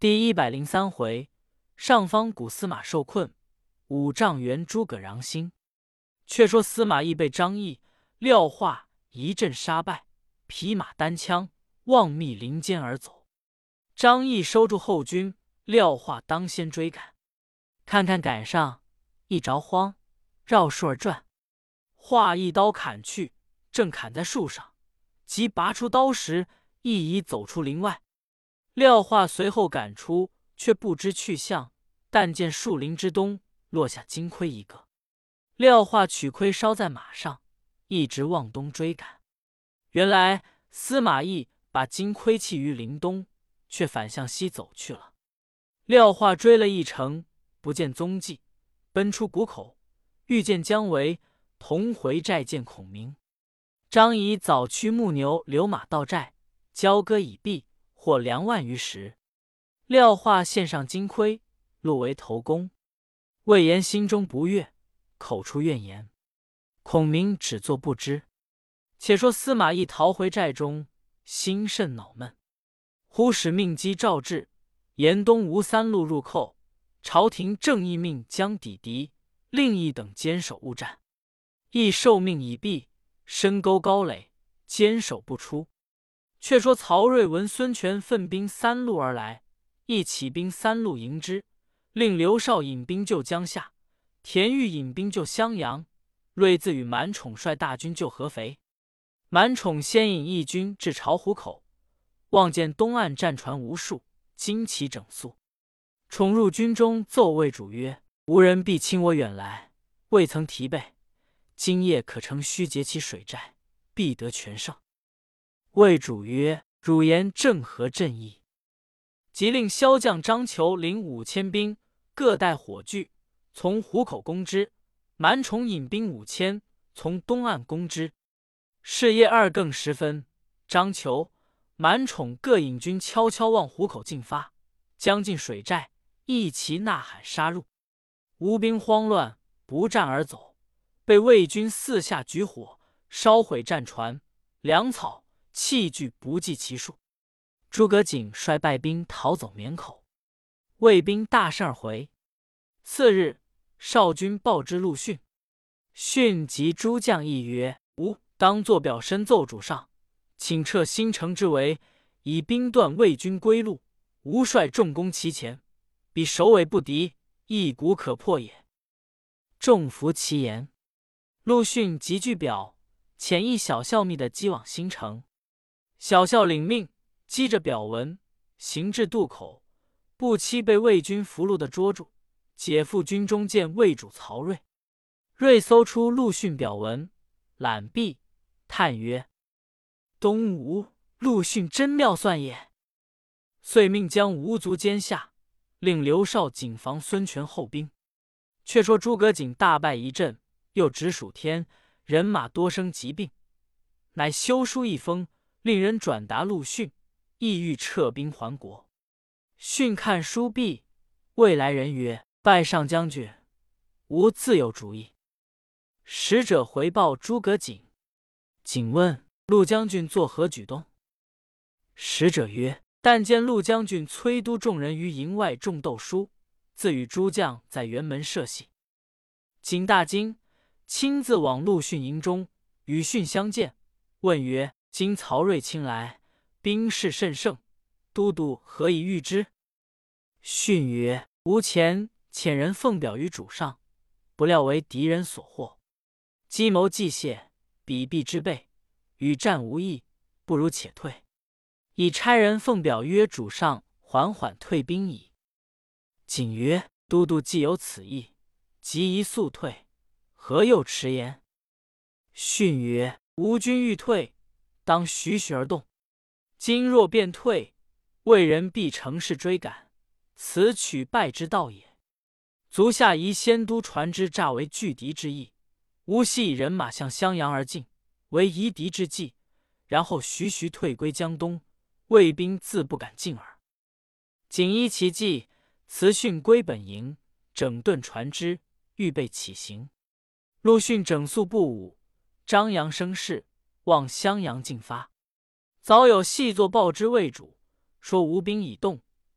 第103回，上方谷司马受困，5丈原诸葛攘星。却说司马懿被张翼、廖化一阵杀败，匹马单枪，望密林间而走。张翼收住后军，廖化当先追赶，看看赶上，一着慌，绕树而转。化一刀砍去，正砍在树上，即拔出刀时，亦已走出林外。廖化随后赶出，却不知去向，但见树林之东落下金盔一个。廖化取盔梢在马上，一直往东追赶。原来司马懿把金盔弃于林东，却反向西走去了。廖化追了一程，不见踪迹，奔出谷口，遇见姜维，同回寨见孔明。张仪早驱牧牛留马到寨，交割已毕，获2万余石。廖化献上金盔，录为头功。魏延心中不悦，口出怨言。孔明只作不知。且说司马懿逃回寨中，心甚恼闷。忽使命机诏至，沿东吴3路入寇。朝廷正义命将抵敌，令役等坚守勿战。亦受命已毕，深沟高垒，坚守不出。却说曹睿闻孙权奋兵3路而来，亦起兵3路迎之，令刘绍引兵救江夏，田豫引兵救襄阳，睿自与满宠率大军救合肥。满宠先引义军至巢湖口，望见东岸战船无数，旌旗整肃。宠入军中，奏魏主曰：“无人必侵我远来，未曾提备，今夜可乘虚截其水寨，必得全胜。”魏主曰：“汝言正合朕意。”即令骁将张求领5000兵，各带火炬，从湖口攻之。满宠引兵5000，从东岸攻之。是夜2更时分，张求、满宠各引军悄悄往湖口进发，将进水寨，一齐呐喊杀入。吴兵慌乱，不战而走，被魏军四下举火，烧毁战船、粮草、器具不计其数。诸葛瑾率败兵逃走沔口，魏兵大胜而回。次日，少军报之陆逊，逊及诸将议曰：“吾当作表申奏主上，请撤新城之围，以兵断魏军归路。吾率众攻其前，彼首尾不敌，一鼓可破也。”众服其言。陆逊即据表，遣一小校密的击往新城。小校领命，击着表文，行至渡口，不期被魏军俘虏的捉住，解赴军中见魏主曹睿。睿搜出陆逊表文，览毕，叹曰：“东吴陆逊真妙算也。”遂命将吴卒监下，令刘绍谨防孙权后兵。却说诸葛瑾大败一阵，又值暑天，人马多生疾病，乃修书一封，令人转达陆逊，意欲撤兵还国。逊看书毕，谓来人曰：“拜上将军，吾自有主意。”使者回报诸葛瑾。瑾问：“陆将军作何举动？”使者曰：“但见陆将军催督众人于营外种豆书，自与诸将在辕门设戏。”瑾大惊，亲自往陆逊营中，与逊相见，问曰：“今曹睿亲来，兵势甚盛，都督何以御之？”逊曰：“吾前遣人奉表于主上，不料为敌人所获，计谋计泄，彼必之备，与战无益，不如且退。已差人奉表约主上缓缓退兵矣。”瑾曰：“都督既有此意，即宜速退，何又迟延？”逊曰：“吾军欲退，当徐徐而动。今若便退，魏人必乘势追赶，此取败之道也。足下宜先督船只诈为拒敌之意，吾悉以人马向襄阳而进，为夷敌之计，然后徐徐退归江东，魏兵自不敢进耳。”瑾依其计，辞逊归本营，整顿船只，预备起行。陆逊整肃部伍，张扬声势，往襄阳进发。早有细作报之魏主，说吴兵已动，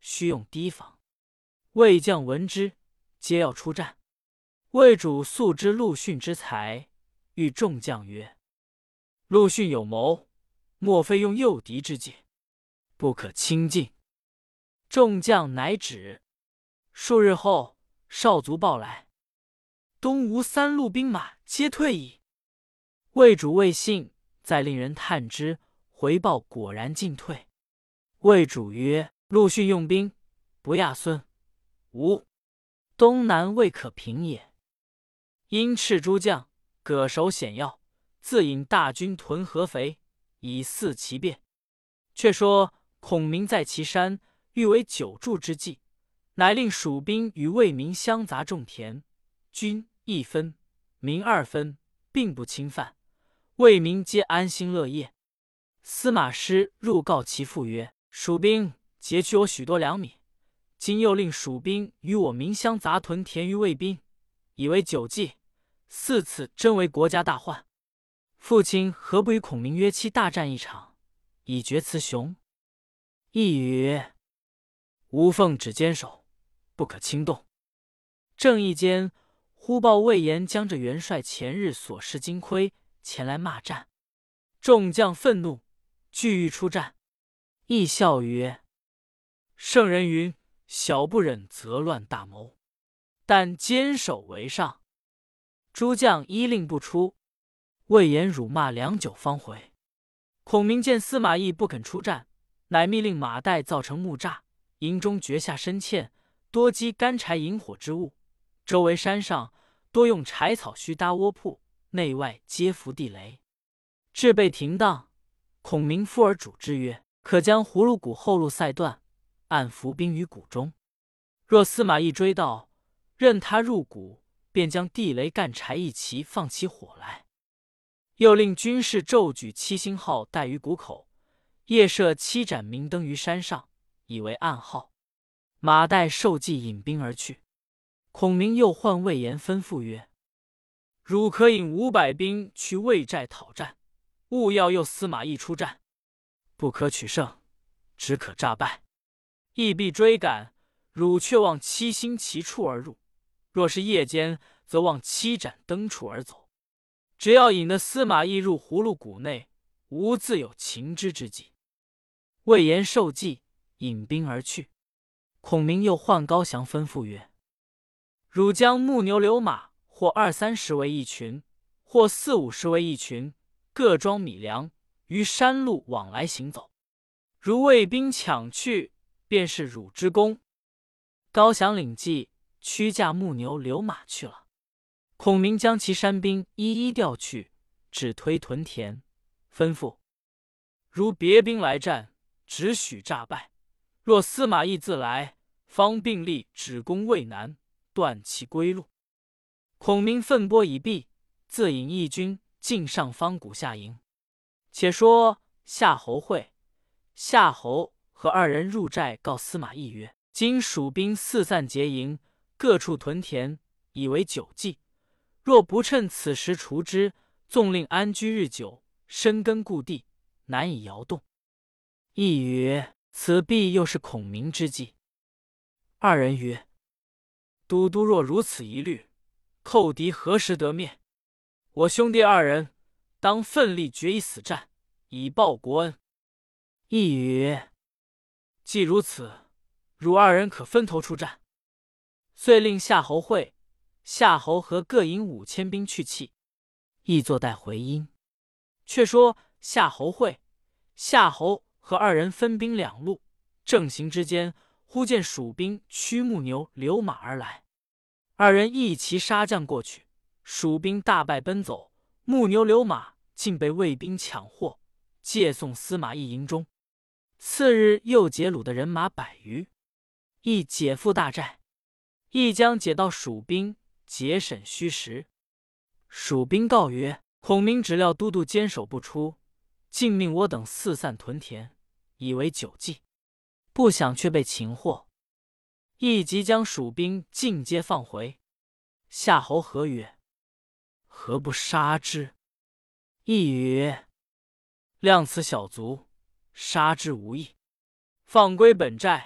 须用提防。魏将闻之，皆要出战。魏主素知陆逊之才，欲众将曰：“陆逊有谋，莫非用诱敌之计，不可轻进。”众将乃止。数日后，少卒报来，东吴3路兵马皆退矣。魏主未信，再令人探之，回报果然尽退。魏主曰：“陆逊用兵，不亚孙吴，东南未可平也。”因斥诸将，各守险要，自引大军屯合肥，以伺其变。却说孔明在岐山，欲为久住之计，乃令蜀兵与魏民相杂种田，军1分，民2分，并不侵犯，魏民皆安心乐业。司马师入告其父曰：“蜀兵劫去我许多粮米，今又令蜀兵与我民相杂屯田于魏兵，以为久计，4次真为国家大患。父亲何不与孔明约期大战一场，以决雌雄？”一语曰：“吾奉旨坚守，不可轻动。”正义间，忽报魏延将着元帅前日所失金盔前来骂战，众将愤怒，俱欲出战。亦笑曰：“圣人云，小不忍则乱大谋，但坚守为上。”诸将依令不出。魏延辱骂良久方回。孔明见司马懿不肯出战，乃密令马岱造成木栅，营中掘下深堑，多积干柴引火之物。周围山上多用柴草须搭窝铺，内外皆伏地雷。至备停当，孔明附而主之曰：“可将葫芦谷后路塞断，按伏兵于谷中。若司马懿追到，任他入谷，便将地雷干柴一齐放起火来。”又令军士骤举7星号待于谷口，夜设7盏明灯于山上，以为暗号。马岱受计引兵而去。孔明又唤魏延吩咐曰：“汝可引500兵去魏寨讨战，勿要诱司马懿出战，不可取胜，只可诈败。懿必追赶，汝却望7星其处而入；若是夜间，则望7盏灯处而走。只要引得司马懿入葫芦谷内，吾自有擒之之计。”魏延受计，引兵而去。孔明又唤高翔吩咐曰：“汝将木牛流马，或20-30为一群，或40-50为一群，各装米粮，于山路往来行走。如魏兵抢去，便是汝之功。”高翔领计，驱驾木牛流马去了。孔明将其山兵一一调去，只推屯田，吩咐：“如别兵来战，只许诈败；若司马懿自来，方并力只攻渭南，断其归路。”孔明奋拨已毕，自引义军进上方谷下营。且说夏侯会、夏侯和2人入寨告司马懿曰：“今蜀兵四散结营，各处屯田，以为久计。若不趁此时除之，纵令安居日久，深根固地，难以摇动。”懿曰：“此必又是孔明之计。”2人曰：“都督若如此疑虑，寇敌何时得灭？我兄弟2人当奋力决一死战，以报国恩。”懿曰：“既如此，汝2人可分头出战。”遂令夏侯会、夏侯和各引5000兵去弃。懿坐待回音。却说夏侯会、夏侯和2人分兵2路，正行之间，忽见蜀兵驱木牛流马而来。2人一齐杀将过去，蜀兵大败奔走，木牛流马竟被魏兵抢获，借送司马懿营中。次日又劫虏的人马100余，懿解复大寨。懿将解到蜀兵，节审虚实。蜀兵告曰：“孔明只料都督坚守不出，竟命我等四散屯田，以为久计，不想却被擒获。”懿即将蜀兵尽皆放回。夏侯何曰：“何不杀之？”懿曰：“谅此小卒，杀之无益。放归本寨，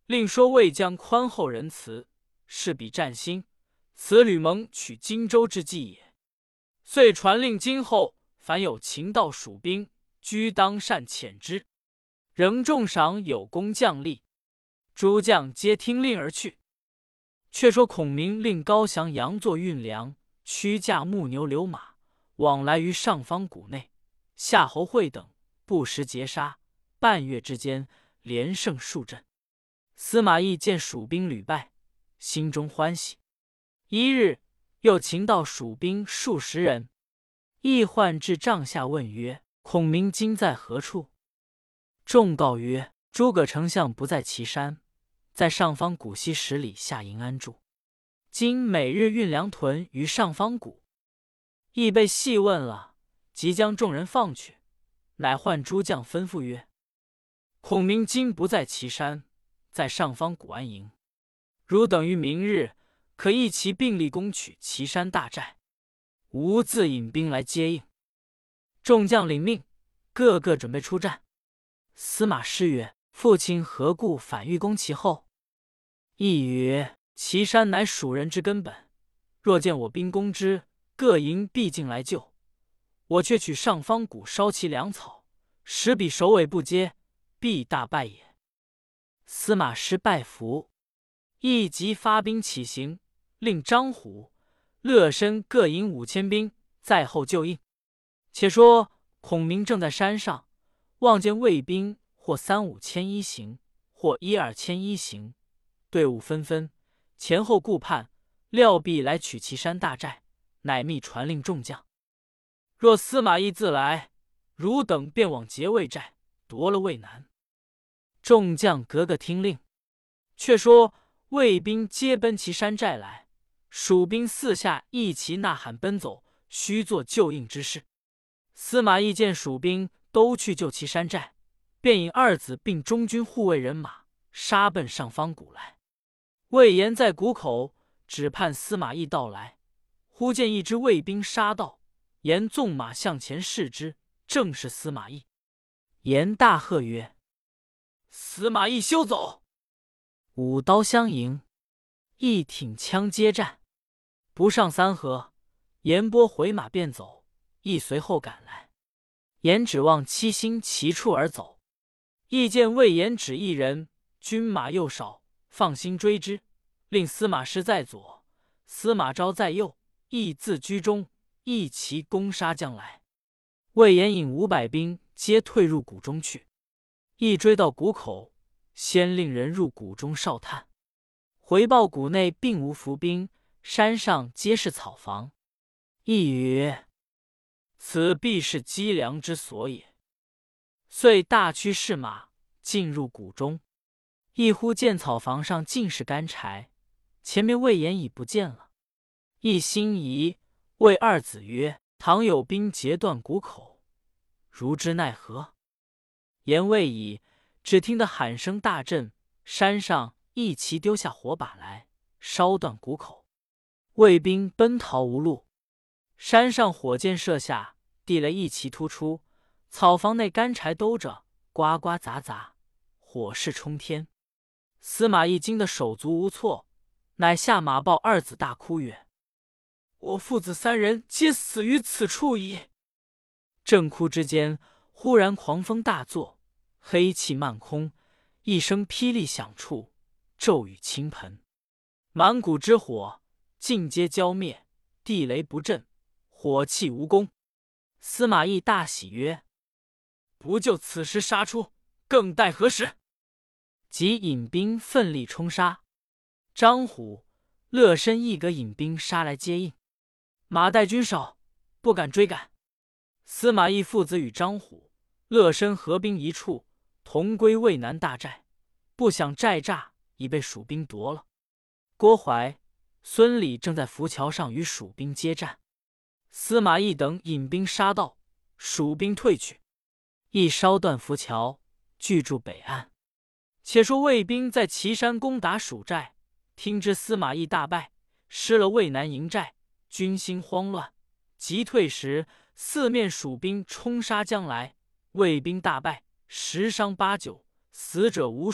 另说魏将宽厚仁慈，是彼战心，此吕蒙取荆州之计也。遂传令今后凡有秦道蜀兵，居当善遣之，仍重赏有功将吏。诸将皆听令而去。却说孔明令高翔、杨作运粮，驱驾木牛流马，往来于上方谷内。夏侯会等不时截杀，半月之间，连胜数阵。司马懿见蜀兵屡败，心中欢喜。一日，又擒到蜀兵数十人，懿唤至帐下问曰：“孔明今在何处？”众告曰：“诸葛丞相不在岐山，在上方谷西10里下营安住。今每日运粮屯于上方谷。”懿被细问了，即将众人放去，乃唤诸将吩咐曰：“孔明今不在岐山，在上方谷安营。汝等于明日可一齐并力攻取岐山大寨，吾自引兵来接应。”众将领命，个个准备出战。司马师曰：“父亲何故反欲攻其后？”懿曰：“岐山乃蜀人之根本，若见我兵攻之，各营必进来救。我却取上方谷烧其粮草，使彼首尾不接，必大败也。”司马师拜服。懿即发兵起行，令张虎、乐申各引5000兵在后救应。且说孔明正在山上，望见魏兵或3-5千一行，或1-2千一行，队伍纷纷，前后顾盼，料必来取岐山大寨，乃密传令众将：若司马懿自来，汝等便往劫魏寨，夺了渭南。众将个个听令。却说魏兵皆奔岐山寨来，蜀兵四下一齐呐喊奔走，须做救应之事。司马懿见蜀兵都去救岐山寨，便引二子并中军护卫人马杀奔上方谷来。魏延在谷口，只盼司马懿到来。忽见一支魏兵杀到，延纵马向前视之，正是司马懿。延大喝曰：“司马懿休走！”舞刀相迎，一挺枪接战，不上3合，延拨回马便走，懿随后赶来。延指望七星齐处而走，懿见魏延只一人，军马又少，放心追之，令司马师在左，司马昭在右，懿自居中，一齐攻杀将来。魏延引500兵皆退入谷中去。懿追到谷口，先令人入谷中哨探，回报谷内并无伏兵，山上皆是草房。懿曰：“此必是积粮之所也。”遂大驱士马进入谷中。一忽见草房上尽是干柴，前面魏延已不见了。懿心疑，谓二子曰：“倘有兵截断谷口，如之奈何？”言未已，只听得喊声大震，山上一齐丢下火把来，烧断谷口。魏兵奔逃无路，山上火箭射下，地雷一齐突出，草房内干柴兜着，呱呱杂杂，火势冲天。司马懿惊得手足无措，乃下马报二子，大哭曰：“我父子3人皆死于此处矣！”正哭之间，忽然狂风大作，黑气漫空，一声霹雳响处，骤雨倾盆，满谷之火尽皆浇灭，地雷不震，火气无功。司马懿大喜曰：“不就此时杀出，更待何时？”即引兵奋力冲杀。张虎、乐申一个引兵杀来接应，马岱军少，不敢追赶。司马懿父子与张虎、乐申合兵一处，同归渭南大寨。不想寨栅已被蜀兵夺了。郭淮、孙礼正在浮桥上与蜀兵接战。司马懿等引兵杀到，蜀兵退去，亦烧断浮桥，据住北岸。且说魏兵在岐山攻打蜀寨，听知司马懿大败，失了渭南营寨，军心慌乱。急退时，四面蜀兵冲杀将来，魏兵大败，10伤8-9，死者无数，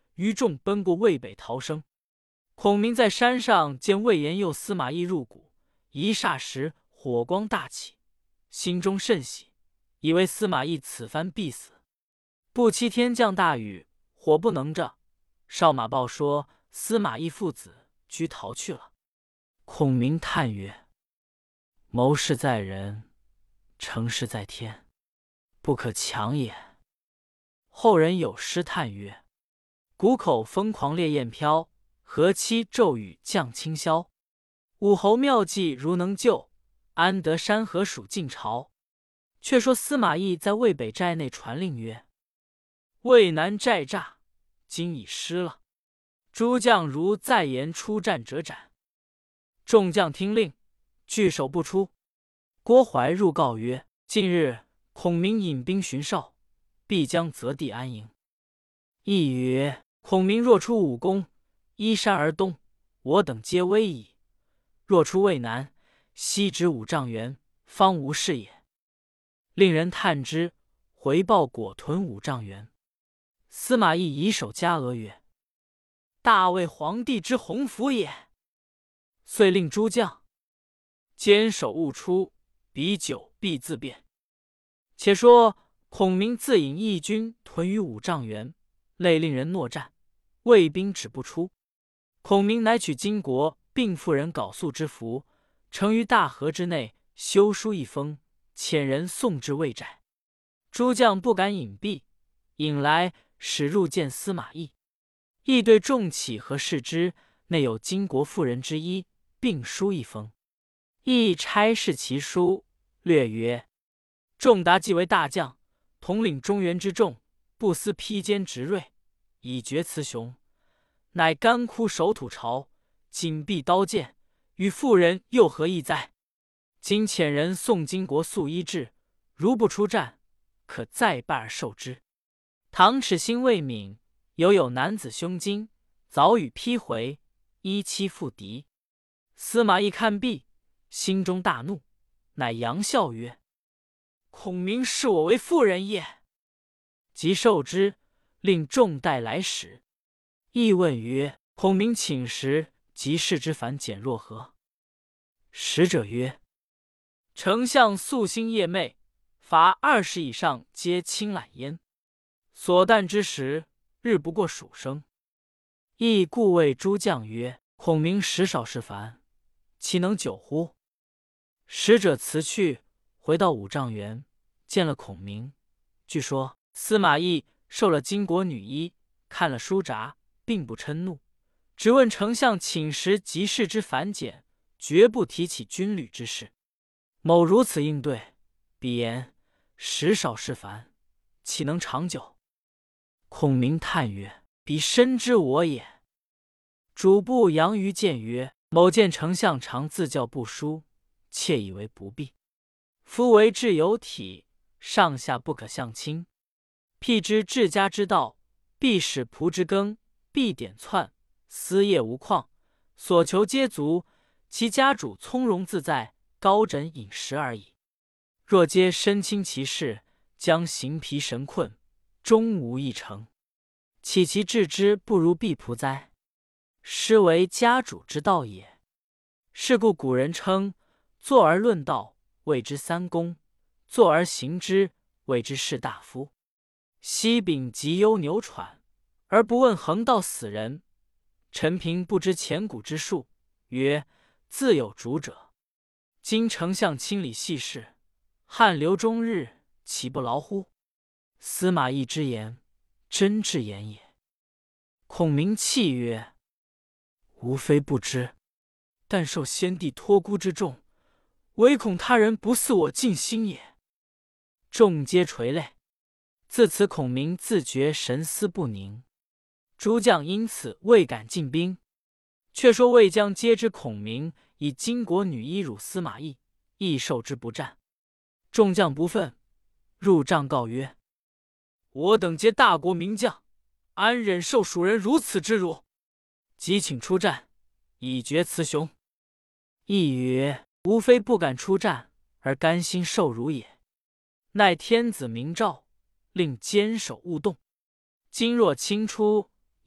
余众奔过渭北逃生。孔明在山上见魏延诱司马懿入谷，一霎时火光大起，心中甚喜，以为司马懿此番必死。不期天降大雨，火不能着，少马报说司马懿父子居逃去了。孔明叹曰：谋事在人，成事在天，不可强也。后人有诗叹曰：谷口疯狂烈焰飘，河期骤雨降清霄。武侯妙计如能救，安得山河属晋朝。却说司马懿在渭北寨内传令曰：渭南寨栅今已失了，诸将如再言出战者斩。众将听令，据守不出。郭淮入告曰：近日孔明引兵巡哨，必将择地安营。懿曰：孔明若出武功，依山而东，我等皆危矣；若出渭南，西止5丈原，方无事也。令人探之，回报果屯5丈原。司马懿以手加额曰：大魏皇帝之鸿福也。遂令诸将坚守勿出，彼久必自变。且说孔明自引义军屯于5丈原，累令人搦战，魏兵止不出。孔明乃取金国并妇人缟素之服，盛于大河之内，修书一封，遣人送至魏寨。诸将不敢隐蔽，引来使入见司马懿。懿对众起和视之，内有金国妇人之衣，并书一封。懿差视其书，略曰：仲达既为大将，统领中原之众，不思披坚执锐，以决雌雄，乃干枯守土巢，紧闭刀剑，与妇人又何异哉？今遣人送金国素衣至，如不出战，可再拜而受之。唐齿心未泯，有男子胸襟，早与披回，依期复敌。司马懿看毕，心中大怒，乃扬笑曰：孔明视我为妇人也。即受之，令众带来使。懿问曰：孔明寝时及士之反简若何？使者曰：丞相夙兴夜寐，罚20以上皆轻懒焉。所啖之时，日不过数升。懿故谓诸将曰：孔明食少事烦，岂能久乎？使者辞去，回到5丈原，见了孔明，据说司马懿受了金国女衣，看了书札，并不嗔怒，只问丞相寝时及士之反简，绝不提起军旅之事。某如此应对，彼言食少事烦，岂能长久？孔明叹曰：彼深知我也。主簿杨于谏曰：某见丞相常自教不书，窃以为不必。夫为治有体，上下不可相亲。辟之治家之道，必使仆之耕，必典篡，私业无旷，所求皆足，其家主从容自在，高枕饮食而已。若皆身轻其事，将形疲神困，终无一成。岂其治之不如婢仆哉？师为家主之道也。是故古人称：坐而论道，谓之三公；坐而行之，谓之士大夫。西秉极忧牛喘，而不问横道死人。陈平不知前古之术，曰：自有主者。今丞相亲理细事，汗流终日，岂不劳乎？司马懿之言，真至言也。孔明泣曰：吾非不知，但受先帝托孤之重，唯恐他人不似我尽心也。众皆垂泪。自此孔明自觉神思不宁，诸将因此未敢进兵。却说魏将皆知孔明以金国女衣辱司马懿，亦受之不战。众将不忿，入帐告曰：我等皆大国名将，安忍受蜀人如此之辱？即请出战，以决雌雄。懿曰：吾非不敢出战，而甘心受辱也。乃天子明诏，令坚守勿动。今若轻出，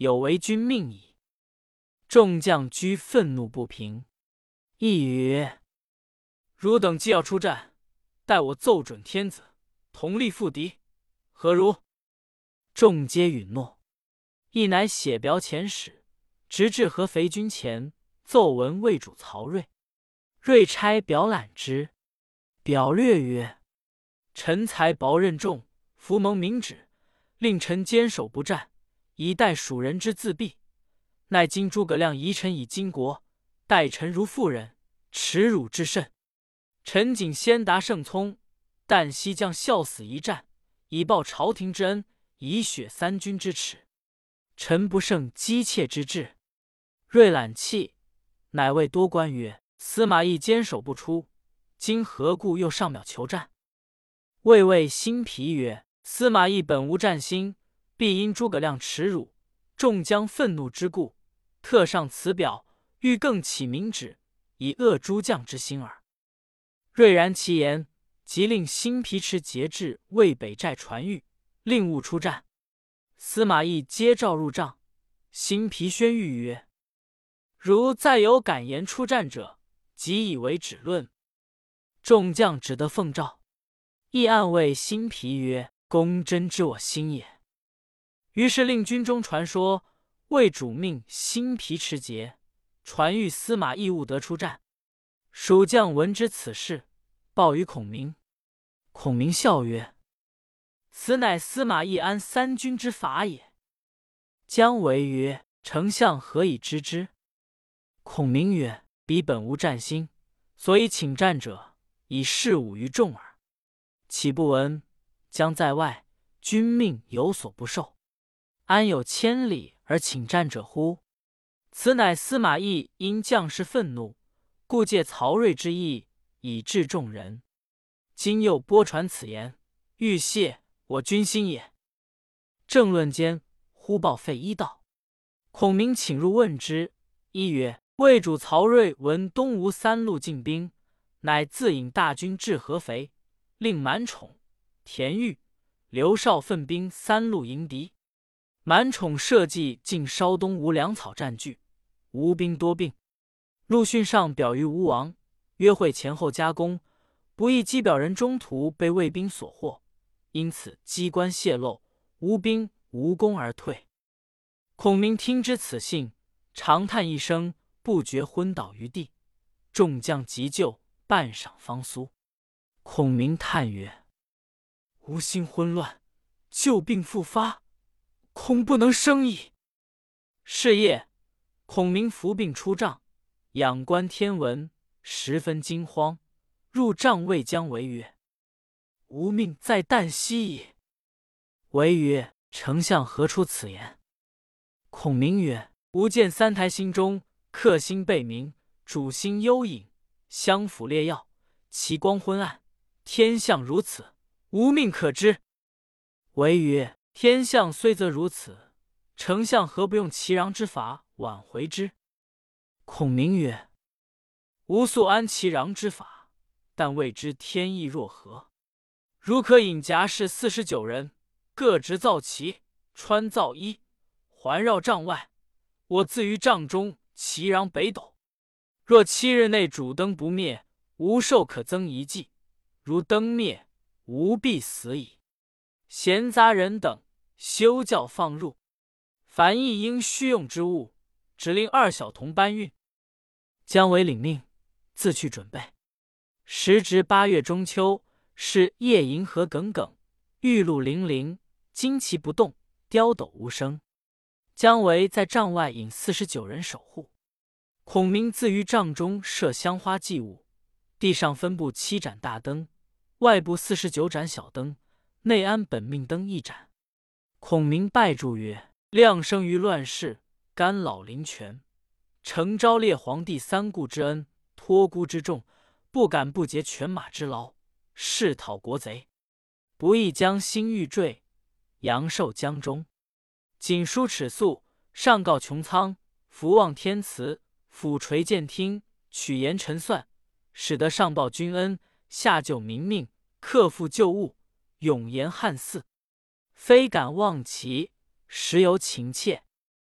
有违君命矣。”众将居愤怒不平。亦曰：“汝等既要出战，待我奏准天子，同力赴敌，何如？”众皆允诺。亦乃写表遣使，直至合肥军前，奏闻魏主曹睿。睿差表览之，表略曰：“臣才薄任重，伏蒙明旨，令臣坚守不战，以待蜀人之自毙。奈今诸葛亮疑臣以巾帼，待臣如妇人，耻辱至甚。臣谨先达圣聪，旦夕将效死一战，以报朝廷之恩，以雪三军之耻。臣不胜姬妾之志。”睿览泣，乃谓多官曰：“司马懿坚守不出，今何故又上表求战？”魏谓辛毗曰：“司马懿本无战心，必因诸葛亮耻辱，众将愤怒之故，特上此表，欲更起明旨，以遏诸将之心耳。”睿然其言，即令辛毗持节制魏北寨传谕，令勿出战。司马懿接诏入帐，辛毗宣谕曰：“如再有敢言出战者，即以为止论。”众将只得奉诏。亦暗谓辛毗曰：“公真知我心也。”于是令军中传说，魏主命辛毗持节，传谕司马懿勿得出战。蜀将闻知此事，报于孔明。孔明笑曰：“此乃司马懿安三军之法也。”姜维曰：“丞相何以知之？”孔明曰：“彼本无战心，所以请战者，以示侮于众耳。岂不闻将在外，君命有所不受，安有千里而请战者乎？此乃司马懿因将士愤怒，故借曹睿之意，以治众人。今又播传此言，欲泄我军心也。”正论间，忽报费祎到。孔明请入问之。祎曰：“魏主曹睿闻东吴三路进兵，乃自引大军至合肥，令满宠、田豫、刘绍分兵三路迎敌。满宠设计尽烧东吴粮草占据，吴兵多病。陆逊上表于吴王，约会前后加工，不意机表人中途被魏兵所获，因此机关泄露，吴兵无功而退。”孔明听知此信，长叹一声，不觉昏倒于地。众将急救，半晌方苏。孔明叹曰：“吾心昏乱，旧病复发，恐不能生矣。”是夜，孔明伏病出帐，仰观天文，十分惊慌，入帐谓姜维曰：“吾命在旦夕矣。”维曰：“丞相何出此言？”孔明曰：“吾见三台星中，客星背明，主星幽隐，相辅列耀，其光昏暗，天象如此，吾命可知。”维曰：“天象虽则如此，丞相何不用其禳之法挽回之？”孔明曰：“吾素安其禳之法，但未知天意若何。如可引甲士49人，各执皂旗，穿皂衣，环绕帐外，我自于帐中其禳北斗。若7日内主灯不灭，吾寿可增1计；如灯灭，吾必死矣。闲杂人等，休教放入。凡一应需用之物，只令2小童搬运。”姜维领命，自去准备。时值8月中秋，是夜银河耿耿，玉露粼粼，旌旗不动，雕斗无声。姜维在帐外引49人守护。孔明自于帐中设香花祭物，地上分布7盏大灯，外部49盏小灯，内安本命灯1盏。孔明拜祝曰：“亮生于乱世，甘老临泉，承昭烈皇帝3顾之恩，托孤之重，不敢不竭犬马之劳，誓讨国贼。不意将心欲坠，阳寿江中。谨书尺素，上告穹苍，福望天慈，俯垂剑听，取言陈算，使得上报君恩，下救民命，克复旧物，永延汉嗣。非敢忘其，实有情切。”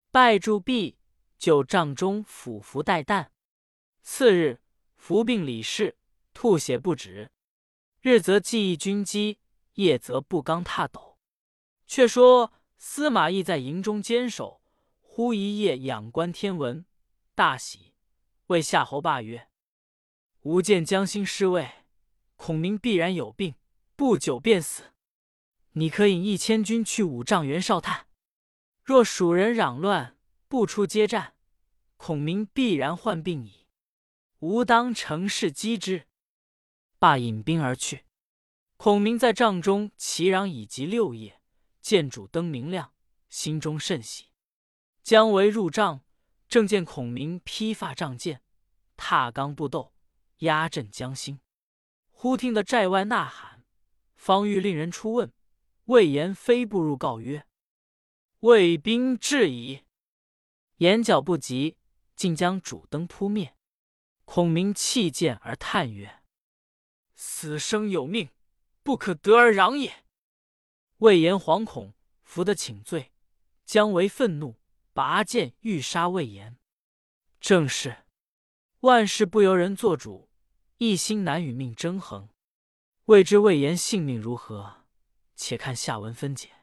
拜祝毕，就帐中俯伏待旦。次日，服病理事，吐血不止。日则记忆军机，夜则不刚踏斗。却说司马懿在营中坚守，忽一夜仰观天文，大喜，谓夏侯霸曰：“吾见将兴失位，孔明必然有病，不久便死。你可引1000军去五丈原哨探，若蜀人攘乱，不出接战，孔明必然患病矣。吾当乘势击之。”罢引兵而去。孔明在帐中齐嚷已及6夜，见主灯明亮，心中甚喜。姜维入帐，正见孔明披发仗剑，踏罡步斗，压阵将兴。忽听得寨外呐喊，方欲令人出问，魏延飞步入告曰：“魏兵至矣。”眼角不及，竟将主灯扑灭。孔明弃剑而叹曰：“死生有命，不可得而攘也。”魏延惶恐，伏得请罪。姜维愤怒，拔剑欲杀魏延。正是万事不由人做主，一心难与命争衡。未知魏延性命如何？且看下文分解。